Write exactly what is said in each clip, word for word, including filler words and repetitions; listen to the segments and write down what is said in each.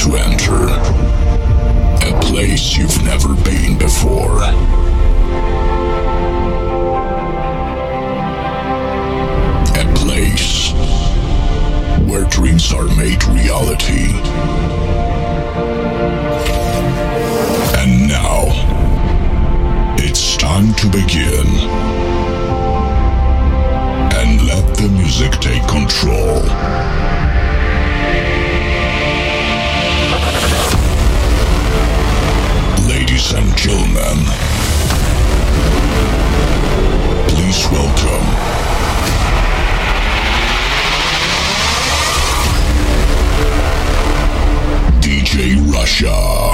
to enter a place you've never been before. A place where dreams are made reality. And now, it's time to begin. And let the music take control. Ladies and gentlemen, please welcome D J Russia.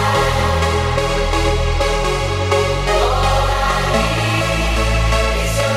All I need is your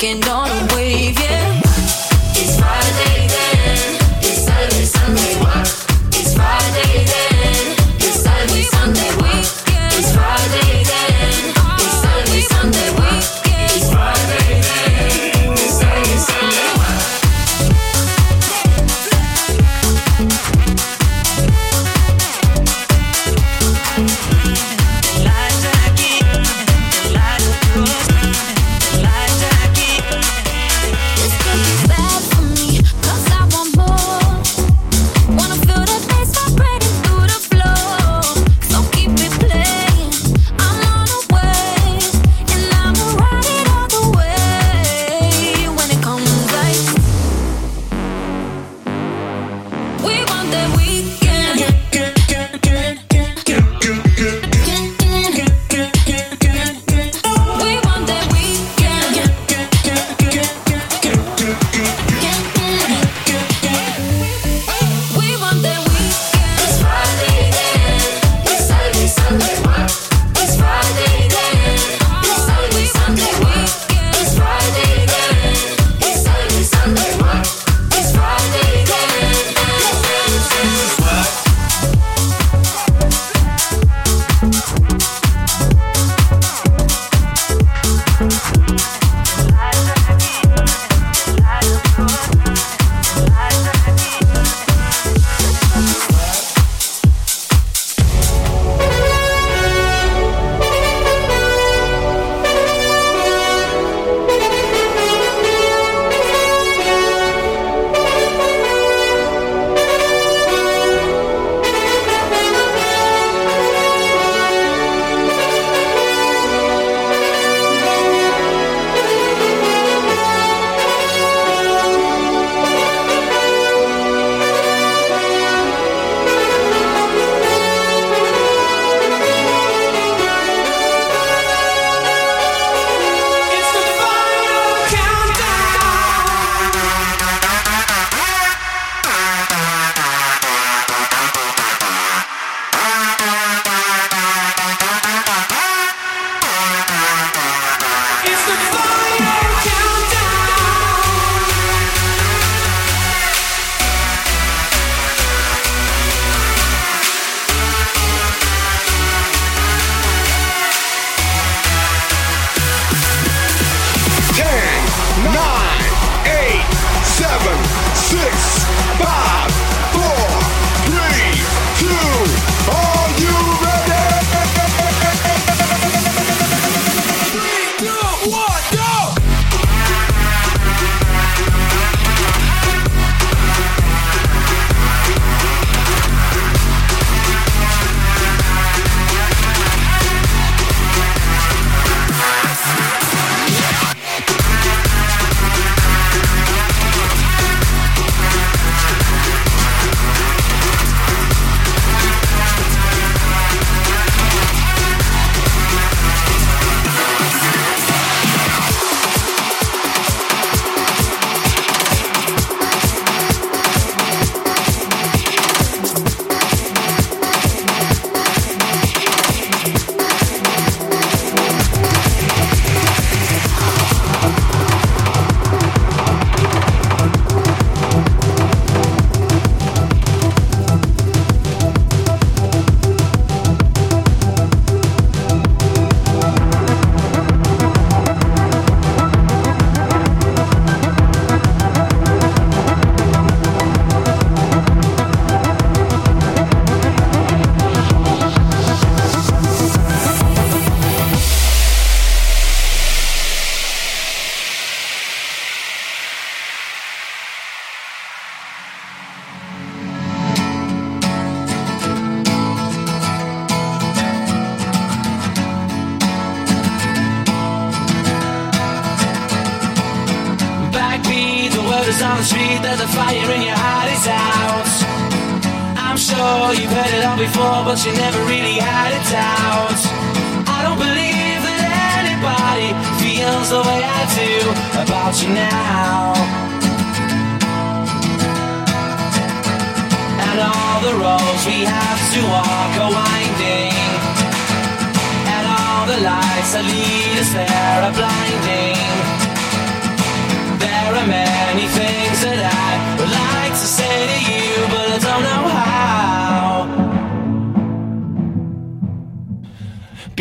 Walking on a wave, yeah. It's Friday then, it's Saturday, Sunday, what? It's Friday then, it's Saturday, Sunday, what? It's Friday then, it's Saturday, Sunday, what? It's Friday then, it's Saturday, Sunday, what? On the street, there's a fire in your heart, it's out. I'm sure you've heard it all before, but you never really had it out. I don't believe that anybody feels the way I do about you now. And all the roads we have to walk are winding, and all the lights that lead us there are blinding.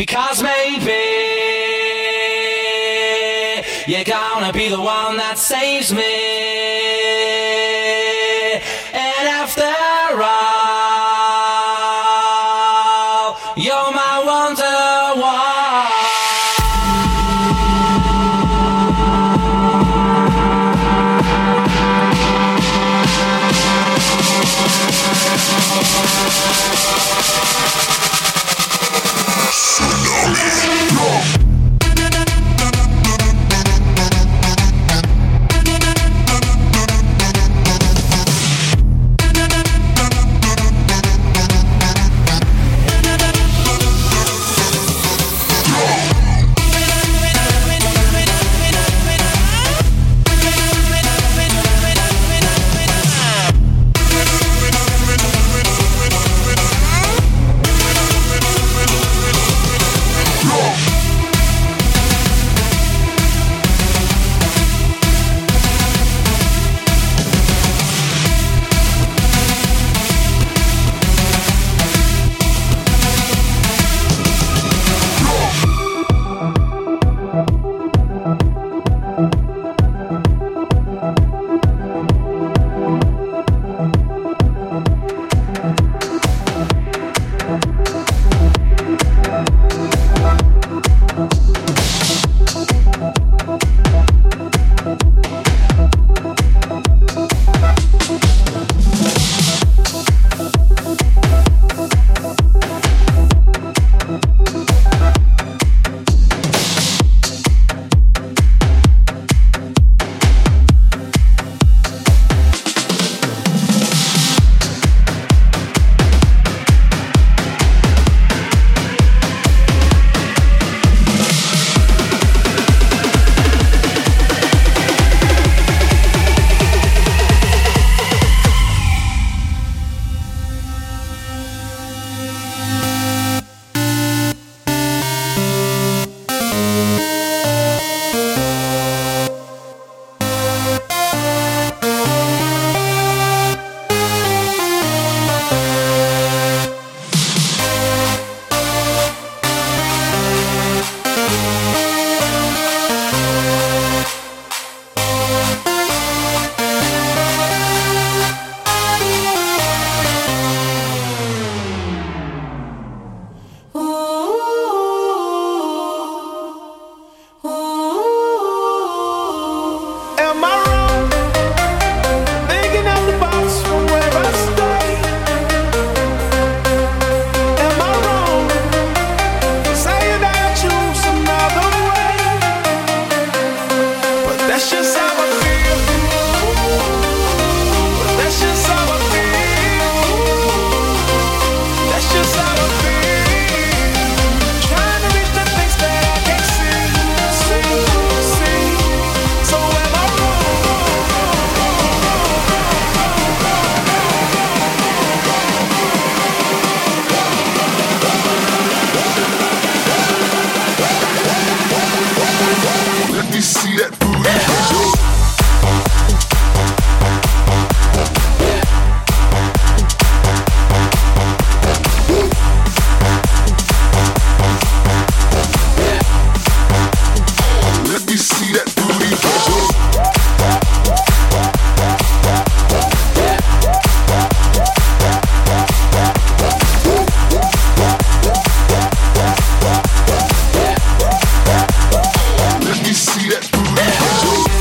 Because maybe you're gonna be the one that saves me. And after all, you're my wonder-wall. See that booty.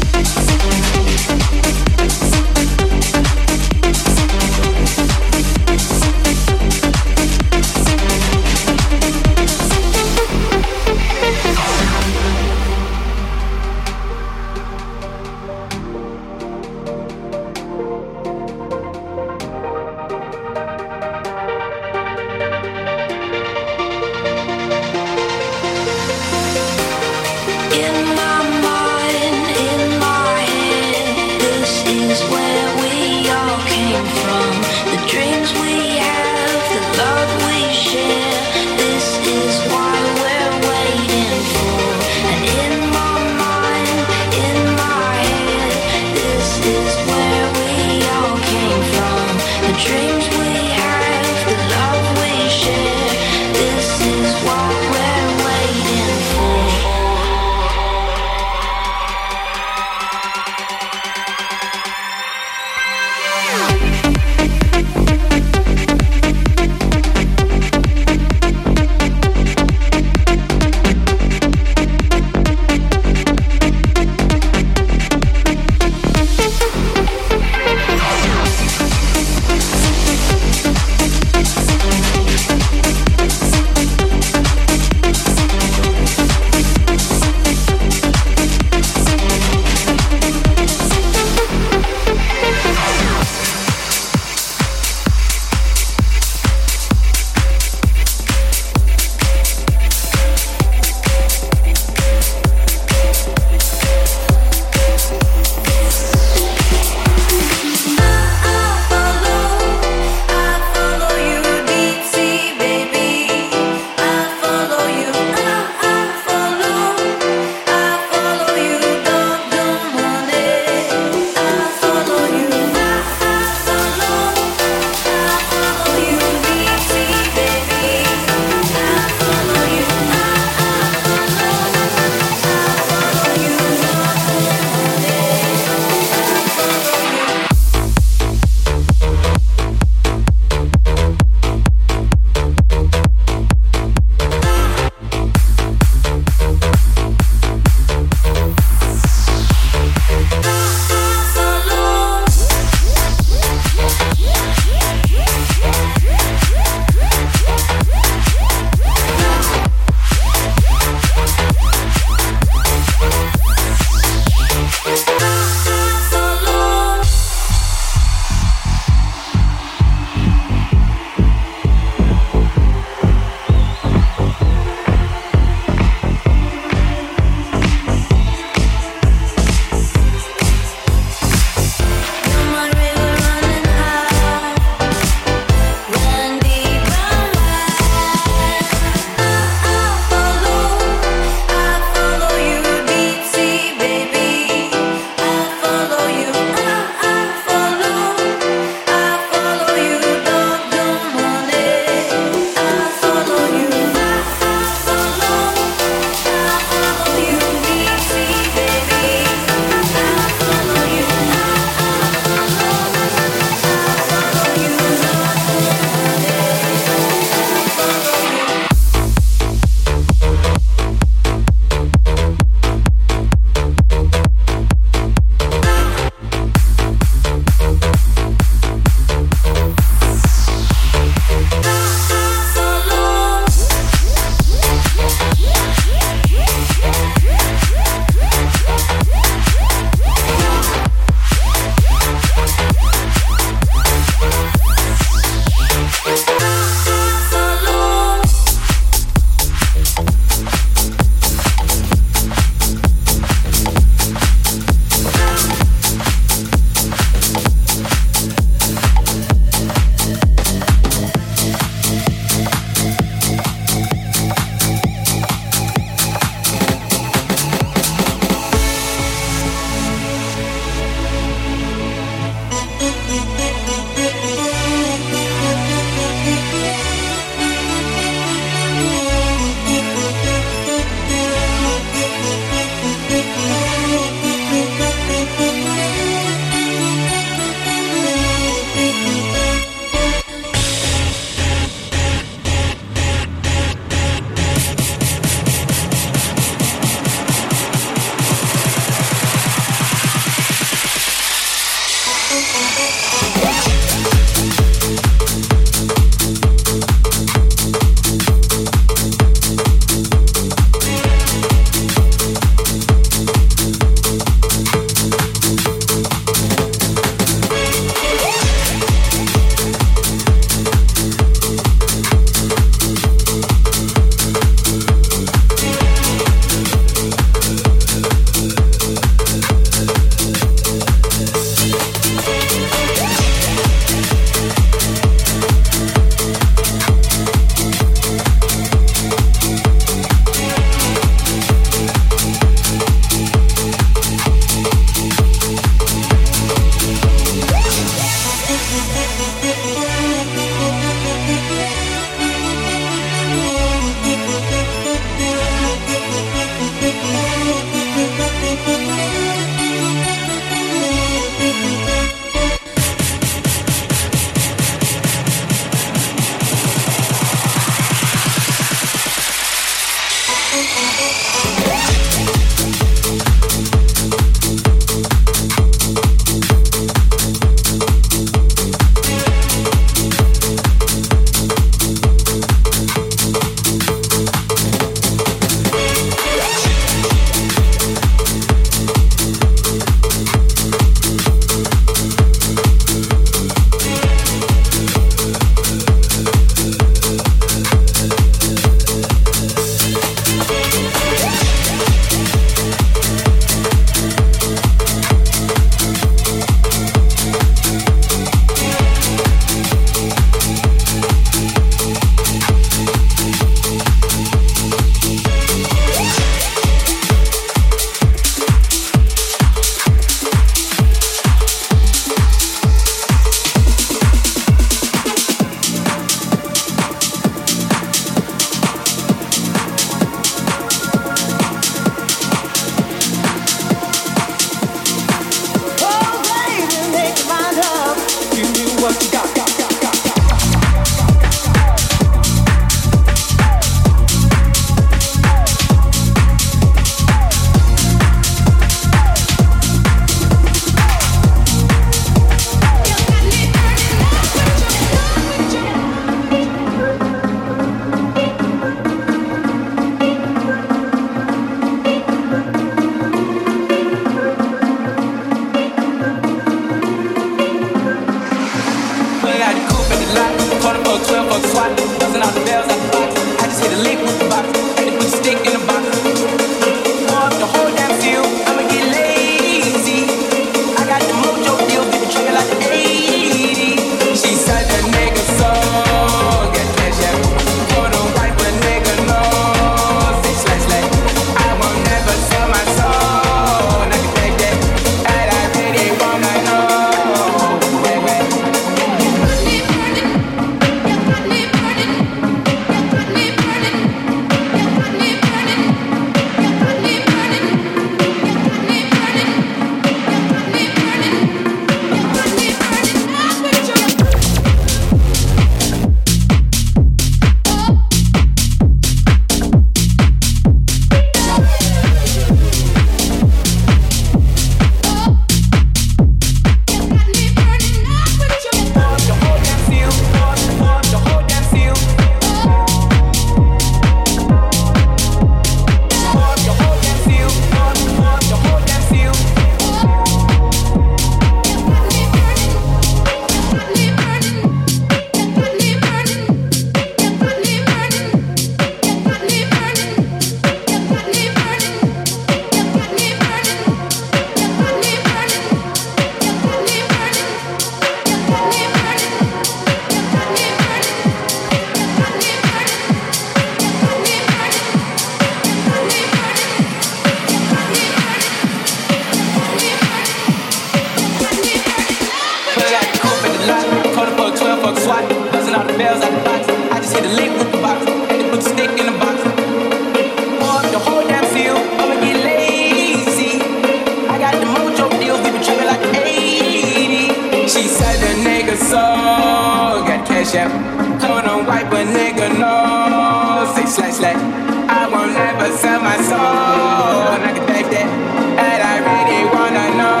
shells out the box. I just hit a lick with the box. Had to put the stick in the box. Pour up the whole damn field. I'ma get lazy. I got the mojo deals. We been tripping like eighty. She said the nigga soul. Got cash out. Code on white, but nigga no. Say slash slash. I won't never sell my soul. And I can take that. And I really wanna know.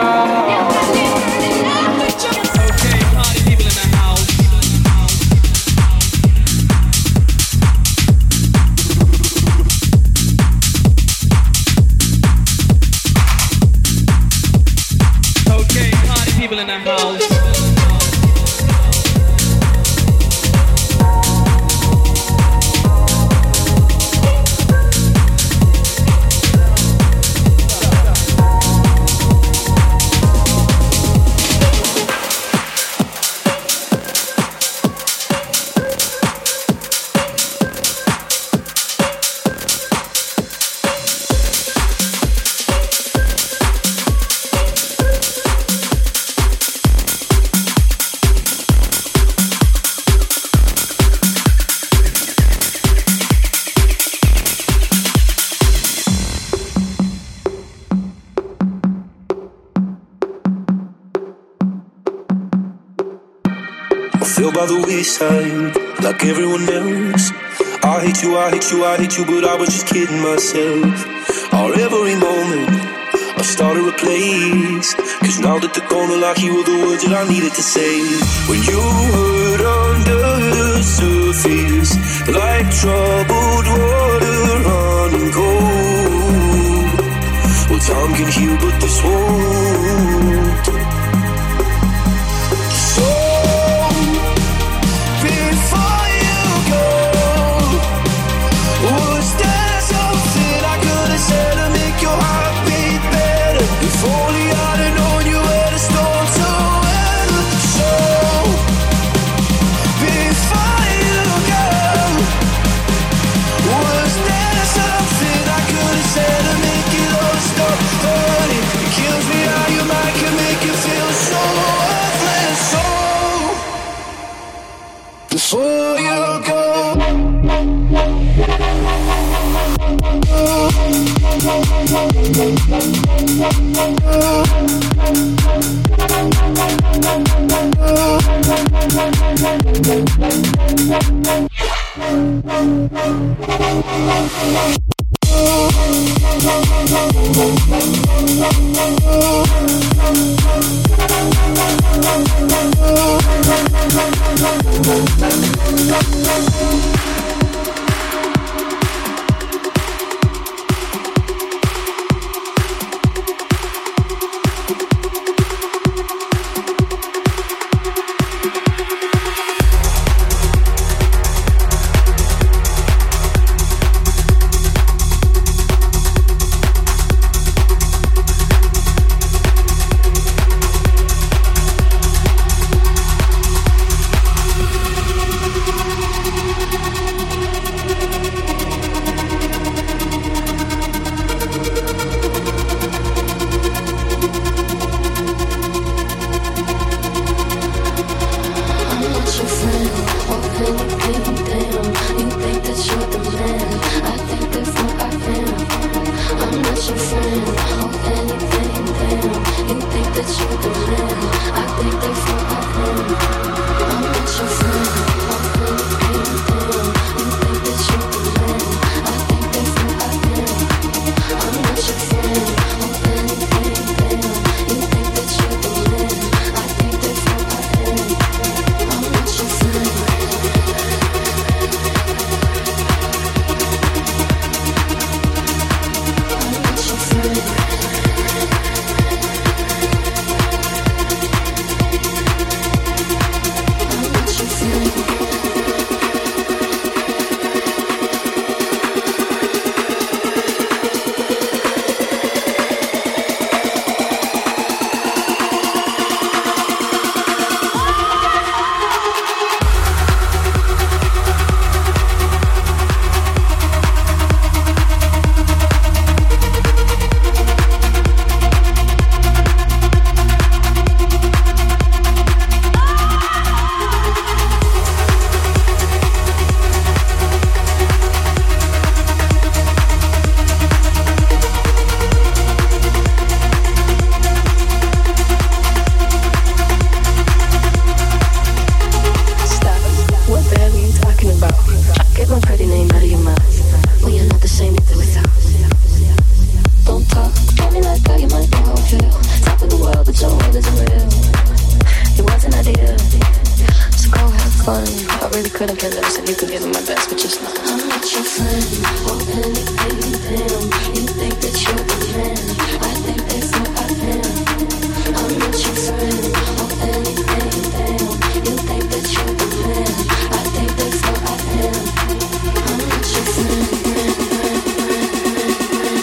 Okay, party people in the house. Okay, party people in the house. Fell by the wayside, like everyone else. I hate you, I hate you, I hate you, but I was just kidding myself. Our every moment, I started a place. Cause now that they're gone, like you were the words that I needed to say. When you hurt under the surface, like troubled water running cold. Well, time can heal, but this won't. So if only I'd have known you were the storm to end. So, before you go, was there something I could have said to make it all stop hurting? It kills me how your mind can make you feel so worthless. So, before you go. fun. I really couldn't care less if you could give me my best, but just not. I'm not your friend, or anything, damn. You think that you're the man, I think that's what I am. I'm not your friend, or anything, damn. You think that you're the man, I think that's what I am. I'm not your friend, friend, friend, friend, friend,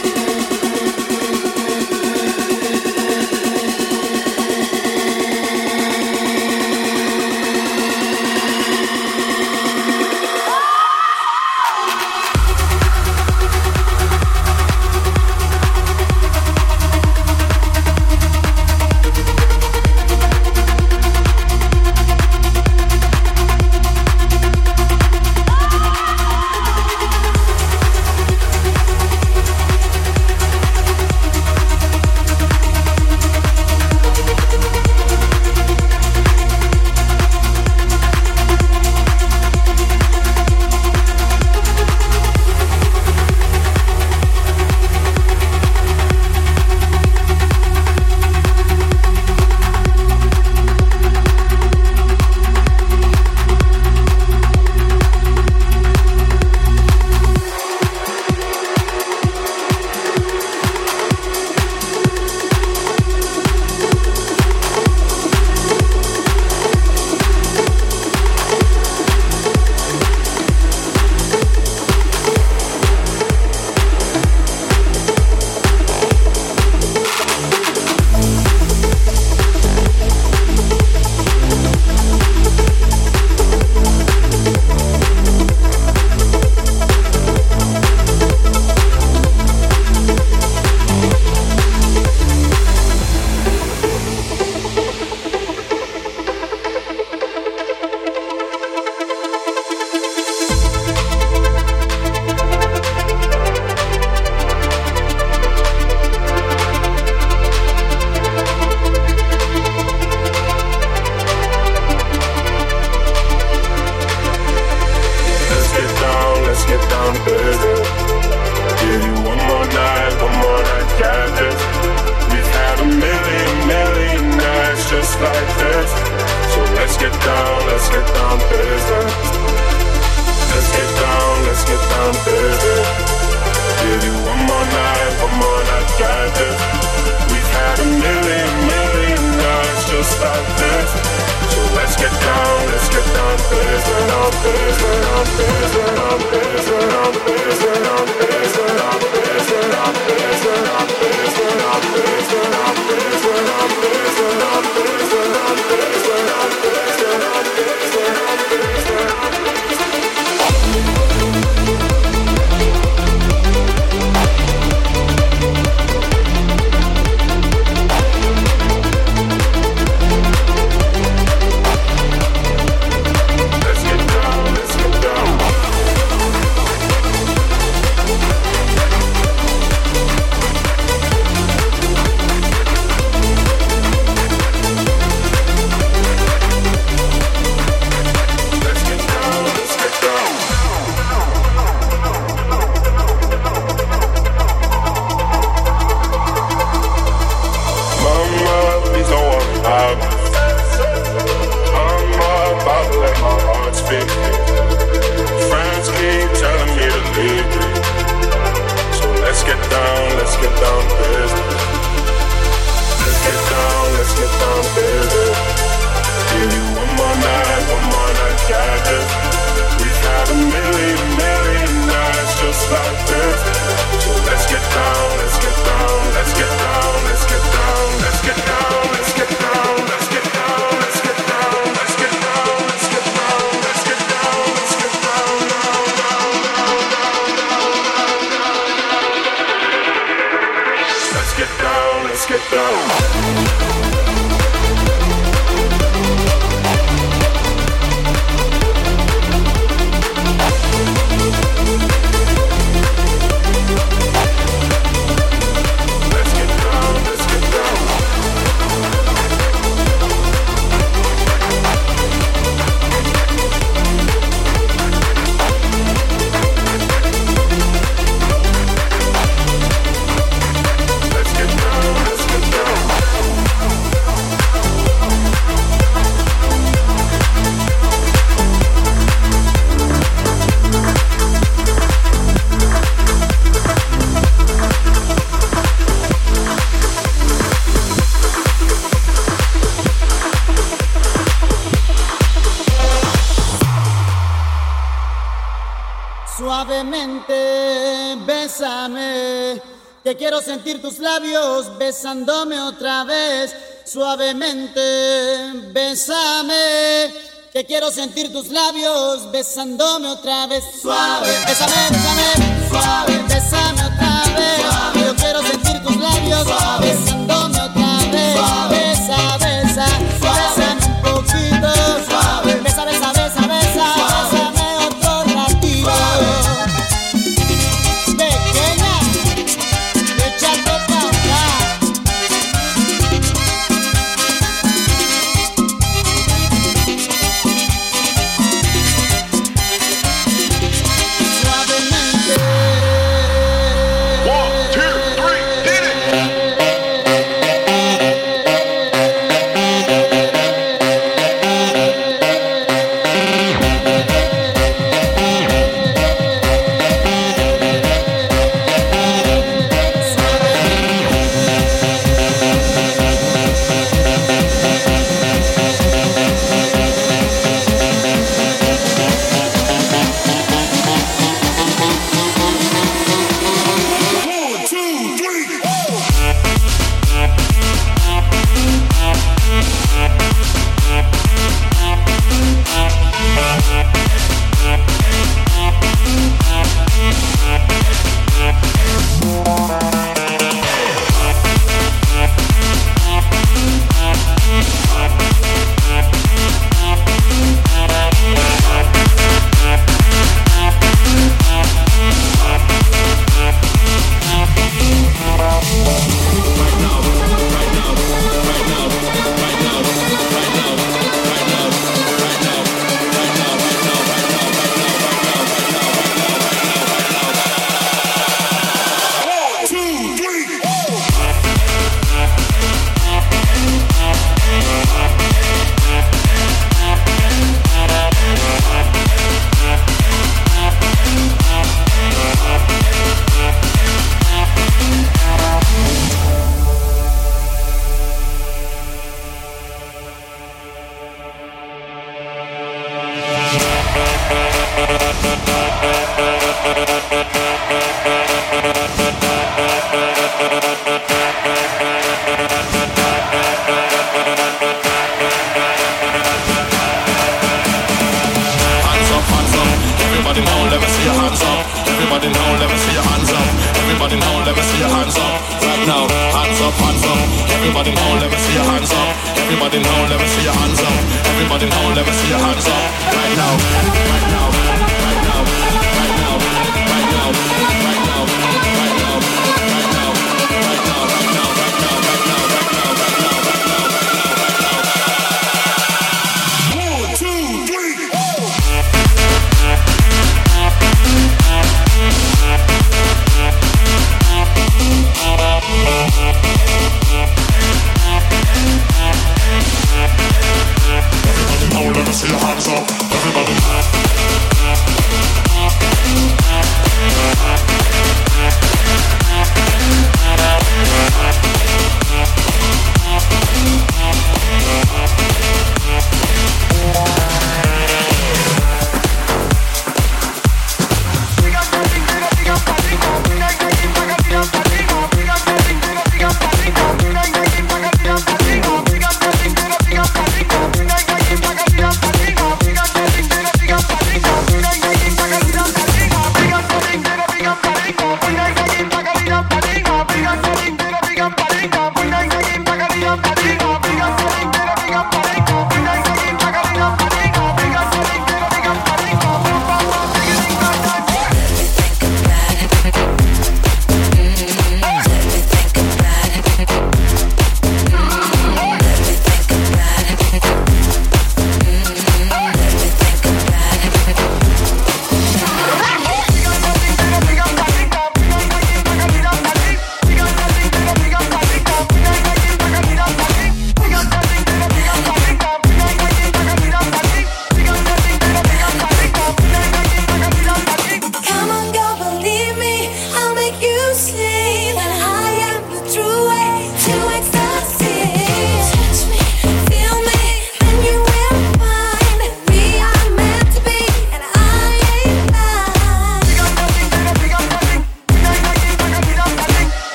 Suavemente, bésame, que quiero sentir tus labios besándome otra vez. Suavemente, bésame, que quiero sentir tus labios besándome otra vez. Suave, bésame, bésame, suave, bésame otra vez. Suave. Yo quiero sentir tus labios suave, besándome otra vez. Suave. Besa, besa, suave, bésame un poquito. Suave, besa, besa, besa, besa, suave. Bésame otro ratito. Suave. Pequeña, échate pa' acá.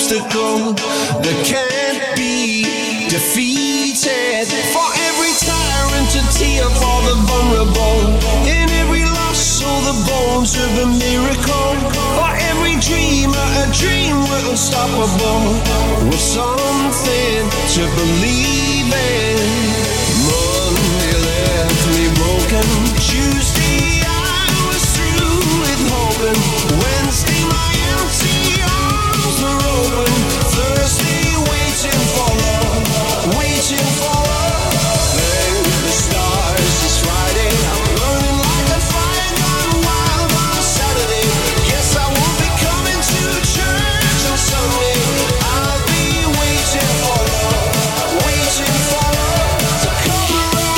obstacle that can't be defeated. For every tyrant, a tear for the vulnerable. In every loss, all the bones of a miracle. For every dreamer, a dream we're unstoppable. With something to believe in. Monday left me broken. Tuesday I was through with hoping. Wednesday my empty arms were open. Thursday waiting for love, waiting for love. Thank the stars, it's Friday. I'm burning like a fire gone wild on a Saturday. Yes, I won't be coming to church on Sunday. I'll be waiting for love, waiting for love to come around.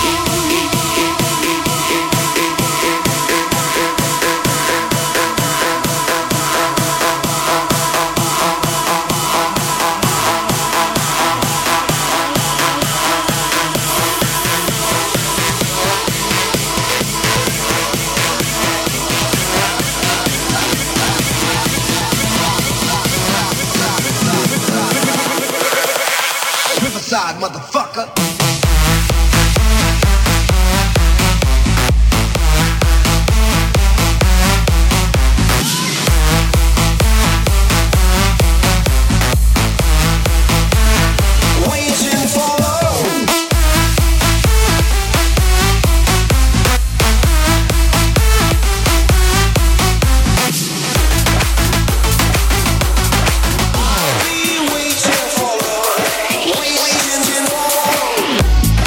Riverside, motherfucker. Waiting for love. I'll be waiting for love. Waiting for love.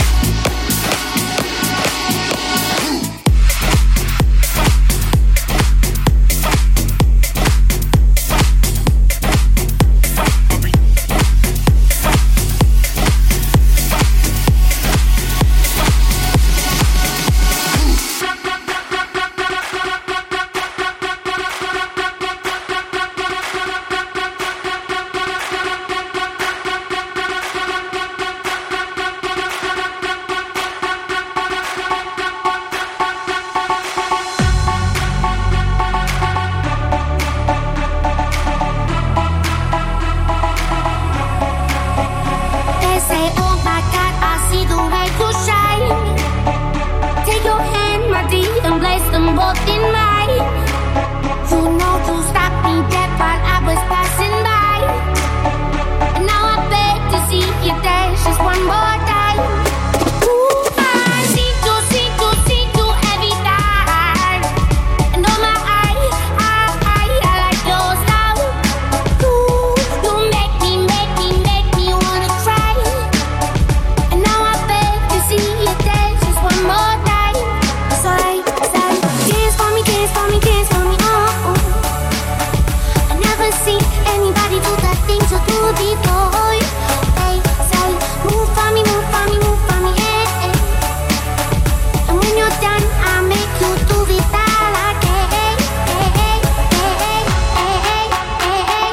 They say, oh my God, I see the way you shine. Take your hand, my dear, and place them both in mine. You know you stopped me dead while I was passing by. And now I beg to see you dance just one more time. Ooh, I see you, see you, see you every time. And oh my, I, I, I, I like your style. Ooh, you make me, make me, make me wanna cry. And now I beg to see you dance just one more time. So I say, dance for me, dance for me, dance for me, oh, oh. I never seen anybody do the things you do before. They say, move for me, move for me, move for me, eh, eh. And when you're done, I make you do it all again. Eh, eh, eh, eh, eh, eh,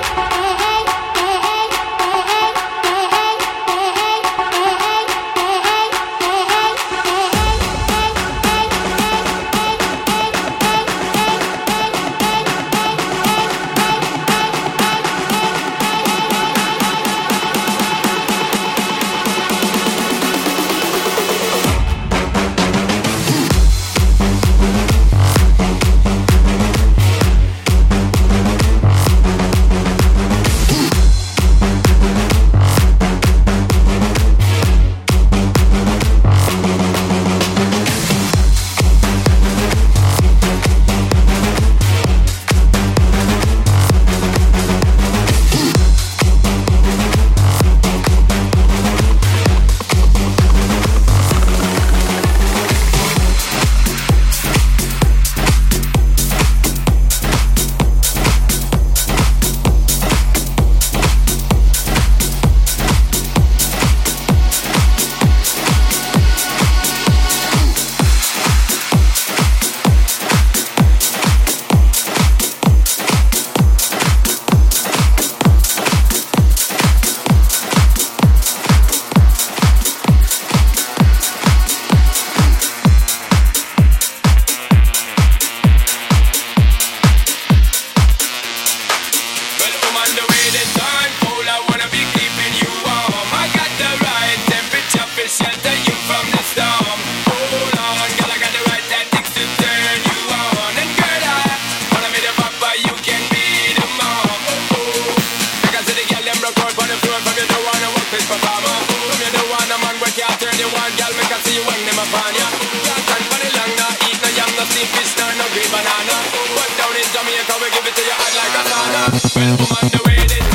Well, woman, the way they